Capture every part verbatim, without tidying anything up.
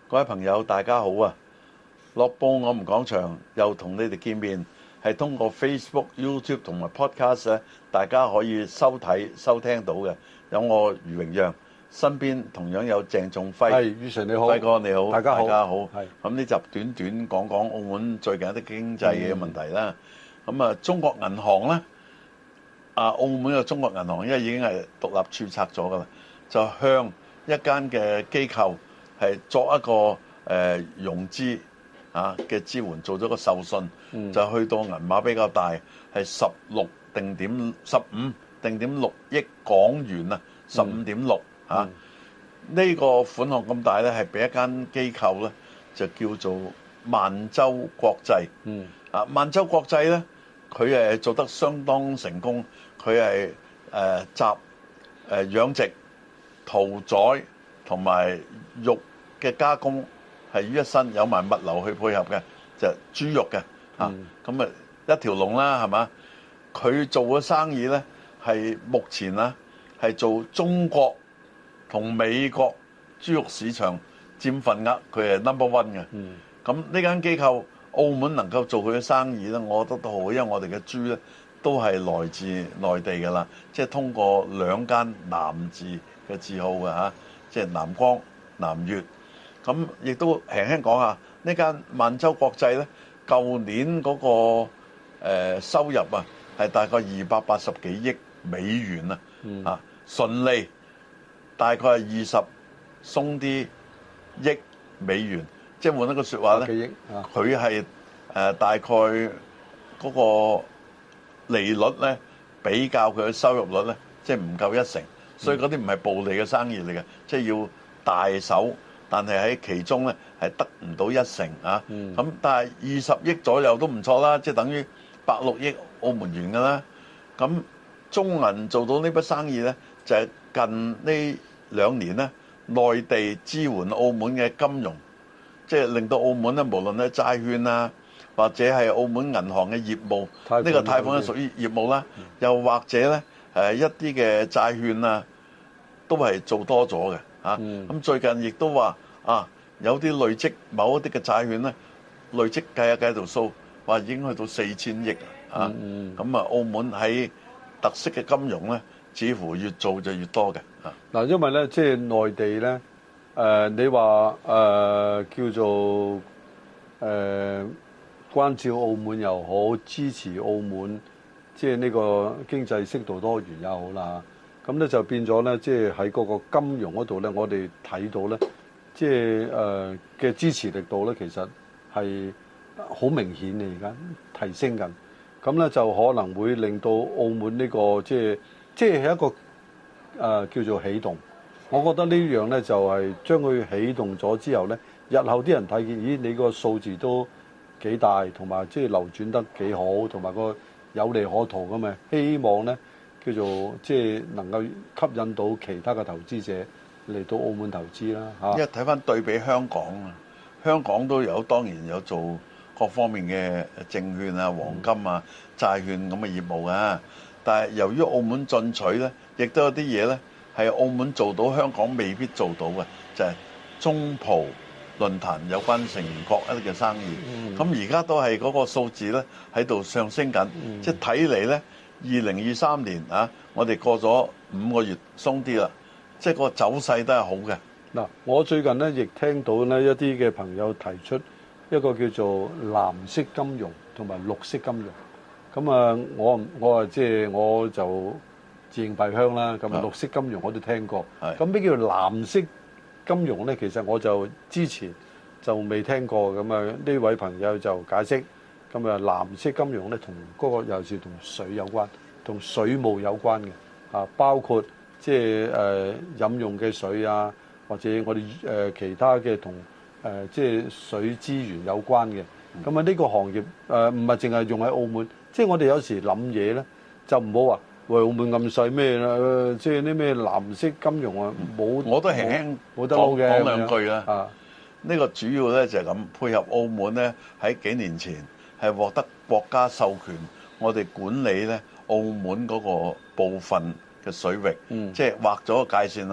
各位朋友，大家好啊！樂報我們講場又同你哋見面，係通過 Facebook、YouTube 同埋 Podcast 咧，大家可以收睇、收聽到嘅。有我余榮讓，身邊同樣有鄭仲輝。 係，余 Sir 你好， 輝哥你好， 大家好。 大家好。 係。咁呢集短短講講澳門最近一啲經濟嘅問題啦。咁、嗯、啊，中國銀行咧，啊澳門嘅中國銀行因為已經係獨立註冊咗噶啦，就向一間嘅機構係作一個誒、呃、融資啊嘅支援，做咗個授信，嗯、就去到銀碼比較大，係十六定點十五定點六億港元啊，十五點六嚇。呢、嗯呢個款項咁大咧，係俾一間機構咧，就叫做萬洲國際。嗯、啊，萬洲國際咧，佢誒做得相當成功，佢係誒集誒、呃、養殖、屠宰同埋肉嘅加工係於一身，有埋物流去配合嘅，就係、豬肉嘅嚇。咁啊、嗯、一條龍啦，係嘛？佢做嘅生意咧係目前啊係做中國同美國豬肉市場佔份額，佢係 number one 嘅。咁呢、嗯、間機構澳門能夠做佢嘅生意咧，我覺得都好，因為我哋嘅豬咧都係來自內地㗎啦，即係通過兩間南字嘅字號嘅嚇，即係南光、南粵。咁亦都輕輕講下呢間萬洲國際咧，舊年嗰個誒收入啊係大概二百八十幾億美元啊，嗯、啊純利大概係二十鬆啲億美元，即係換一個説話咧，佢係誒大概嗰個利率咧比較佢嘅收入率咧，即係唔夠一成，所以嗰啲唔係暴利嘅生意嚟嘅，即係要大手。但係喺其中咧係得唔到一成啊，咁、嗯、但係二十億左右都唔錯啦，即係等於百六億澳門元㗎啦。咁中銀做到呢筆生意咧，就係、是、近呢兩年咧，內地支援澳門嘅金融，即係令到澳門咧，無論咧債券啊，或者係澳門銀行嘅業務，呢、這個貸款係屬於業務啦，嗯、又或者咧誒一啲嘅債券啊，都係做多咗嘅。啊，咁、嗯、最近亦都話啊，有啲累積某一啲嘅債券咧，累積計下計條數，話已經去到四千億啊！咁、嗯、啊，澳門喺特色嘅金融咧，似乎越做就越多嘅啊！ 嗱，因為咧，即係內地咧，誒、呃，你話誒、呃、叫做誒、呃、關照澳門又好，支持澳門，即係呢個經濟適度多元又好啦。咁咧就變咗咧，即係喺嗰個金融嗰度咧，我哋睇到咧，即係誒嘅支持力度咧，其實係好明顯嘅，而家提升緊。咁咧就可能會令到澳門呢個即係即係係一個誒、呃、叫做起動。我覺得呢樣咧就係將佢起動咗之後咧，日後啲人睇見，咦，你個數字都幾大，同埋即係流轉得幾好，同埋個有利可圖咁嘛。希望咧，叫做即係能夠吸引到其他嘅投資者嚟到澳門投資啦嚇。因為睇翻對比香港啊，香港都有當然有做各方面嘅證券啊、黃金啊、債券咁嘅業務啊。但係由於澳門進取咧，亦都有啲嘢咧係澳門做到香港未必做到嘅，就係中葡論壇有關成員國一啲嘅生意。咁而家都係嗰個數字咧喺度上升緊，嗯、即係睇嚟咧。二零二三年啊，我哋過咗五個月鬆啲啦，即係個走勢都係好嘅。 嗱，我最近咧亦聽到咧一啲嘅朋友提出一個叫做藍色金融同埋綠色金融。咁啊，我我啊即係我就自認閉香啦。咁綠色金融我都聽過。咁咩叫藍色金融咧？其實我就之前就未聽過。咁啊，呢位朋友就解釋。咁啊，藍色金融咧，同嗰個又是同水有關，同水務有關嘅啊，包括即係誒飲用嘅水啊，或者我哋誒其他嘅同誒即係水資源有關嘅。咁啊，呢個行業誒唔係淨係用喺澳門，即係我哋有時諗嘢咧，就唔好話喂澳門咁細咩啦，即係啲咩藍色金融啊，冇我都輕輕冇得講嘅講兩句啦。啊，呢個主要咧就係咁配合澳門咧喺幾年前。係獲得國家授權，我哋管理咧澳門嗰個部分嘅水域，嗯、即係劃咗個界線啦。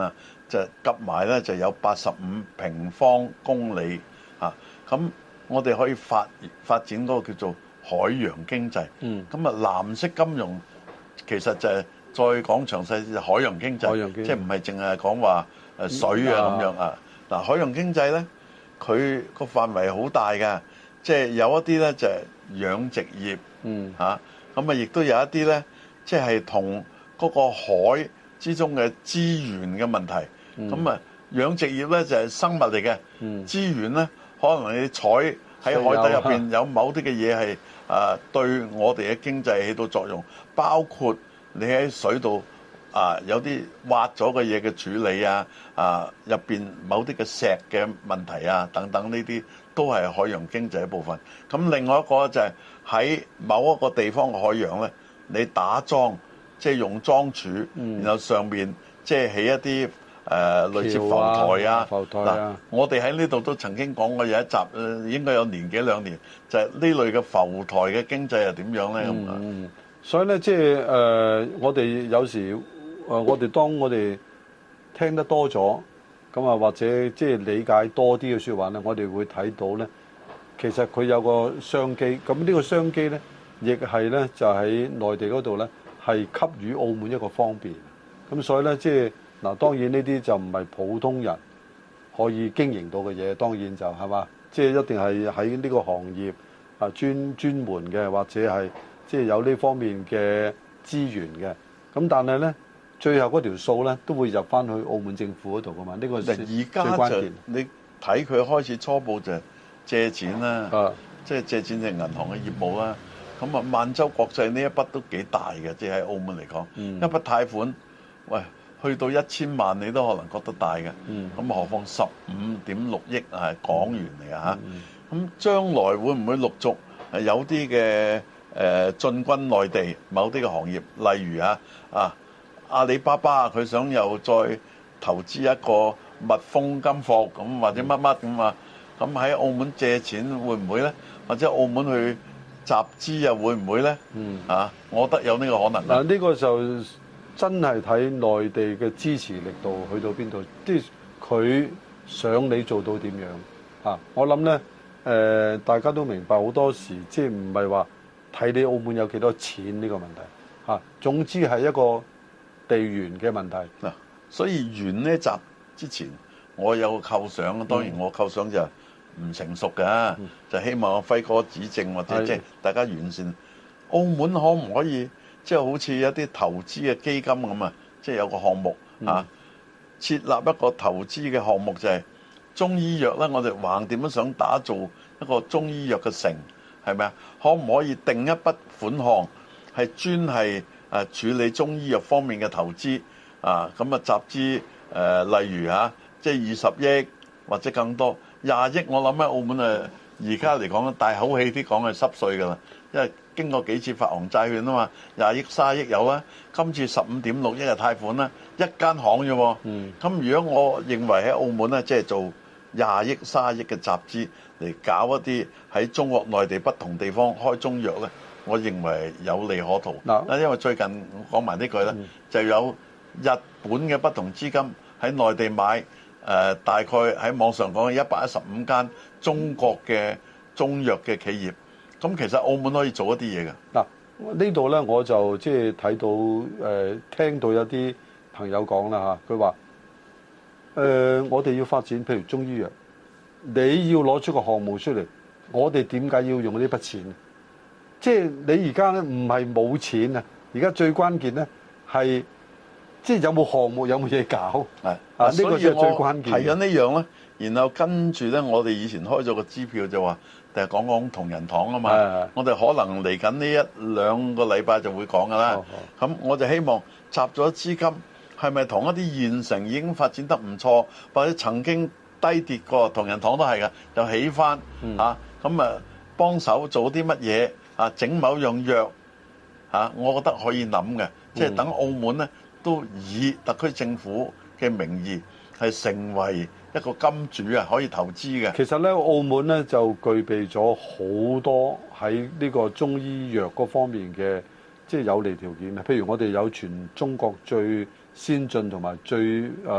就夾埋咧就有八十五平方公里啊。咁我哋可以發發展嗰個叫做海洋經濟。嗯。咁啊，藍色金融其實就係再講詳細就海洋經濟，海洋經濟即係唔係淨係講話誒水啊咁樣啊。嗱，海洋經濟咧，佢個範圍好大㗎，即係有一啲咧就係養殖業。嗯。嚇，咁啊，亦都有一啲咧，即係同嗰個海之中嘅資源嘅問題。咁啊、嗯，養殖業咧就係生物嚟嘅，嗯、資源咧可能你採喺海底入邊有某啲嘅嘢係啊對我哋嘅經濟起到作用，包括你喺水度啊有啲挖咗嘅嘢嘅處理啊，啊入邊某啲嘅石嘅問題啊等等，呢啲都係海洋經濟一部分。咁另外一個就係喺某一個地方嘅海洋咧，你打樁，即係用樁柱，嗯、然後上面即係起一啲。誒、呃、類似浮台啊，嗱、啊啊，我哋喺呢度都曾經講過有一集，誒應該有年幾兩年，就係、是、呢類嘅浮台嘅經濟係點樣咧？咁啊、嗯， 所以咧，即係誒，我哋有時誒、呃，我哋當我哋聽得多咗，咁啊，或者即係理解多啲嘅説話咧，我哋會睇到咧，其實佢有個商機，咁呢個商機咧，亦係咧就喺內地嗰度咧，係給予澳門一個方便，咁所以咧，即係。嗱，當然呢啲就唔係普通人可以經營到嘅嘢，當然就係嘛，即係一定係喺呢個行業啊專專門嘅，或者係即係有呢方面嘅資源嘅。咁但係咧，最後嗰條數咧都會入翻去澳門政府嗰度噶嘛。呢個最關鍵。 你睇佢開始初步就借錢啦，啊、即係借錢就係銀行嘅業務啦。咁啊，萬洲國際呢一筆都幾大嘅，即係喺澳門嚟講，嗯、一筆貸款，喂。去到一千萬你都可能覺得大嘅，咁、嗯、何況十五點六億係港元嚟啊嚇！咁、嗯、將來會唔會陸續係有啲嘅誒進軍內地某啲嘅行業，例如啊啊阿里巴巴佢想又再投資一個蜜蜂金服咁或者乜乜咁啊？咁喺澳門借錢會唔會咧？或者澳門去集資又會唔會咧？嗯啊，我覺得有呢個可能。 嗱，呢個就。真係睇內地嘅支持力度去到邊度，即係佢想你做到點樣嚇？我諗呢，誒，大家都明白好多時，即係唔係話睇你澳門有幾多錢呢個問題嚇。總之係一個地緣嘅問題嗱。所以完呢集之前，我有個構想，當然我構想就唔成熟嘅，嗯、就希望輝哥指正或者即係大家完善。澳門可唔可以？即係好似一啲投資嘅基金咁啊，即係有個項目啊，設立一個投資嘅項目就係中醫藥咧。我哋橫掂都想打造一個中醫藥嘅城，係咪啊？可唔可以定一筆款項係專係誒處理中醫藥方面嘅投資啊？咁啊集資誒，例如嚇，即係二十億或者更多廿億。我諗喺澳門誒而家嚟講，大口氣啲講係濕碎㗎啦，因為經過幾次發行債券啊嘛，廿億、卅億有啦，今次十五點六億嘅貸款啦，一間行啫喎。咁、嗯、如果我認為喺澳門咧，即係做廿億、卅億嘅集資嚟搞一啲喺中國內地不同地方開中藥咧，我認為有利可圖。嗱、嗯，因為最近講埋呢句咧，嗯、就有日本嘅不同資金喺內地買誒、呃，大概喺網上講一百一十五間中國嘅中藥嘅企業。咁其實澳門可以做一啲嘢嘅。 嗱，呢度咧我就即係睇到誒、呃，聽到有啲朋友講啦嚇，佢話誒，我哋要發展譬如中醫藥，你要攞出個項目出嚟，我哋點解要用呢筆錢？即係你而家咧唔係冇錢啊，而家最關鍵咧係即係有冇項目，有冇嘢搞。係啊，呢個先係最關鍵。 係緊呢樣咧，然後跟住咧，我哋以前開咗個支票就話。就係講講同仁堂啊嘛，是的 我哋可能嚟緊呢一兩個禮拜就會講噶啦。咁、哦、我就希望集咗資金，係咪同一啲現成已經發展得唔錯，或者曾經低跌過同仁堂都係嘅，就起翻、嗯、啊，咁啊幫手做啲乜嘢啊，整某樣藥啊，我覺得可以諗嘅，即係等澳門咧都以特區政府嘅名義係成為一個金主啊，可以投資嘅。 其實咧，澳門咧就具備咗好多喺呢個中醫藥嗰方面嘅即係有利條件啊。譬如我哋有全中國最先進同埋最誒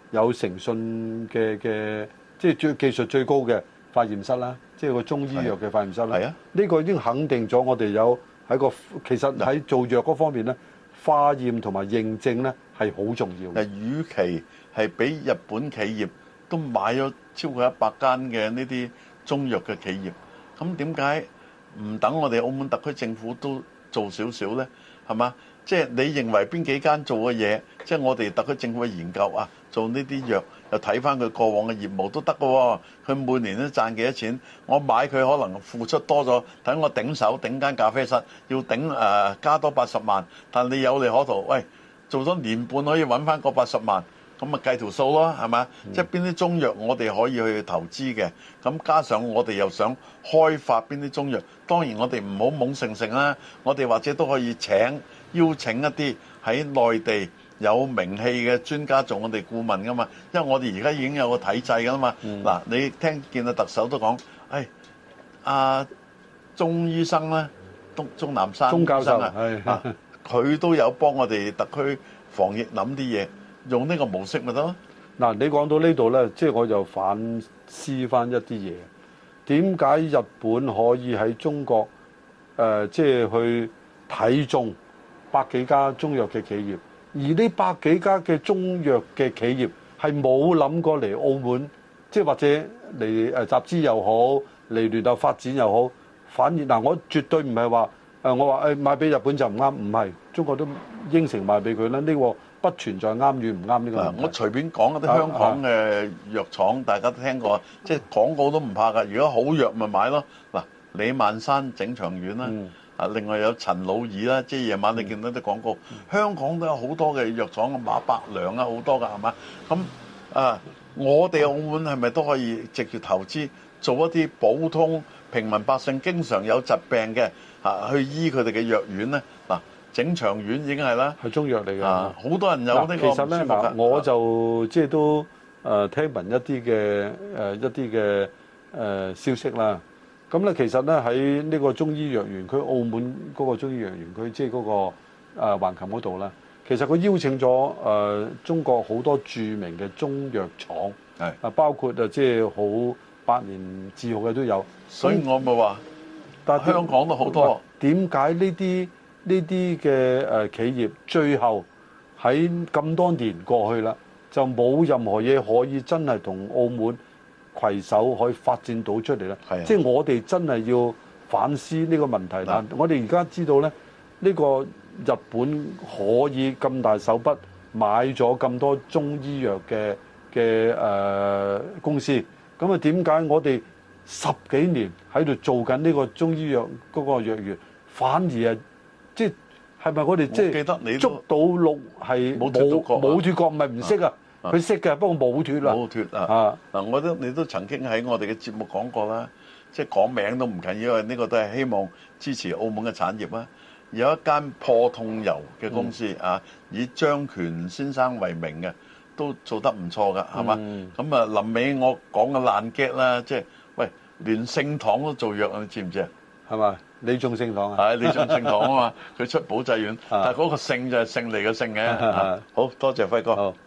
有誠信嘅嘅，即係最技術最高嘅化驗室啦，即係個中醫藥嘅化驗室啦。係啊，呢個已經肯定咗我哋有喺個其實喺做藥嗰方面咧，化驗同埋認證咧係好重要嘅。 誒，與其係俾日本企業都買咗超過一百間嘅呢啲中藥嘅企業，咁點解唔等我哋澳門特區政府都做少少呢？係嘛？即係你認為邊幾間做嘅嘢，即係我哋特區政府嘅研究啊，做呢啲藥又睇翻佢過往嘅業務都得嘅喎。佢每年都賺幾多錢？我買佢可能付出多咗，等我頂手頂間咖啡室要頂誒、呃、加多八十萬，但你有利可圖，喂，做咗年半可以揾翻個八十萬。咁咪計條數咯，係嘛？嗯、即係邊啲中藥我哋可以去投資嘅，咁加上我哋又想開發邊啲中藥，當然我哋唔好懵盛盛啦，我哋或者都可以請邀請一啲喺內地有名氣嘅專家做我哋顧問噶嘛，因為我哋而家已經有個體制噶嘛。嗱、嗯，你聽見阿特首都講，誒阿鐘醫生咧，東鐘南山鐘教授啊，佢都有幫我哋特區防疫諗啲嘢。用呢個模式咪得咯？ 嗱，你講到呢度呢，即係我就反思翻一啲嘢。點解日本可以喺中國誒，即係去睇中百幾家中藥嘅企業，而呢百幾家嘅中藥嘅企業係冇諗過嚟澳門，即係或者嚟誒集資又好，嚟聯合發展又好，反而嗱，我絕對唔係話誒，我話誒賣俾日本就唔啱，唔係，中國都應承賣俾佢啦。呢個不存在啱與唔啱呢個問題。 我隨便講一啲香港嘅藥廠，大家都聽過，即係廣告都唔怕㗎。如果好藥咪買咯。嗱，李萬山整腸丸啦，啊、嗯，另外有陳老二啦，即係夜晚你見到啲廣告，嗯、香港都有好多嘅藥廠，馬百良啊，好多㗎，係嘛？咁啊，我哋澳門係咪都可以直接投資做一啲普通平民百姓經常有疾病嘅啊，去醫佢哋嘅藥丸咧？嗱。整腸丸已經係啦， 係中藥嚟嘅。 啊，好多人有呢個。 其實咧，嗱，我就即係都誒聽聞一啲嘅誒一啲嘅誒消息啦。咁咧，其實咧喺呢個中醫藥園區，澳門嗰個中醫藥園區，即係嗰個誒橫琴嗰度啦。其實佢邀請咗誒中國好多著名嘅中藥廠，係啊，包括啊即係好百年字號嘅都有。 所以我咪話，但係香港都好多。 點解呢啲？呢啲嘅誒企業最後喺咁多年過去啦，就冇任何嘢可以真係同澳門攜手可以發展到出嚟啦。係，即係我哋真係要反思呢個問題啦。我哋而家知道咧，呢個日本可以咁大手筆買咗咁多中醫藥嘅嘅誒公司，咁啊點解我哋十幾年喺度做緊呢個中醫藥嗰個藥園，反而係？即係咪我哋即係捉到鹿係冇冇冇脫角？唔係唔識啊！佢識嘅，不過冇脫啦。 冇脫啊！嗱，我都你都曾經喺我哋嘅節目講過啦，即係講名都唔緊要，因為呢個都係希望支持澳門嘅產業啊。有一間破痛油嘅公司啊，以張權先生為名嘅，都做得唔錯㗎，係嘛？咁啊，臨尾我講嘅爛 get 啦，即係喂，連聖堂都做藥，你知唔知啊？ 係嘛？李眾聖堂啊， 係李眾聖堂啊嘛，佢出保濟丸，但係嗰個聖就係勝利嘅勝嘅。好多謝輝哥。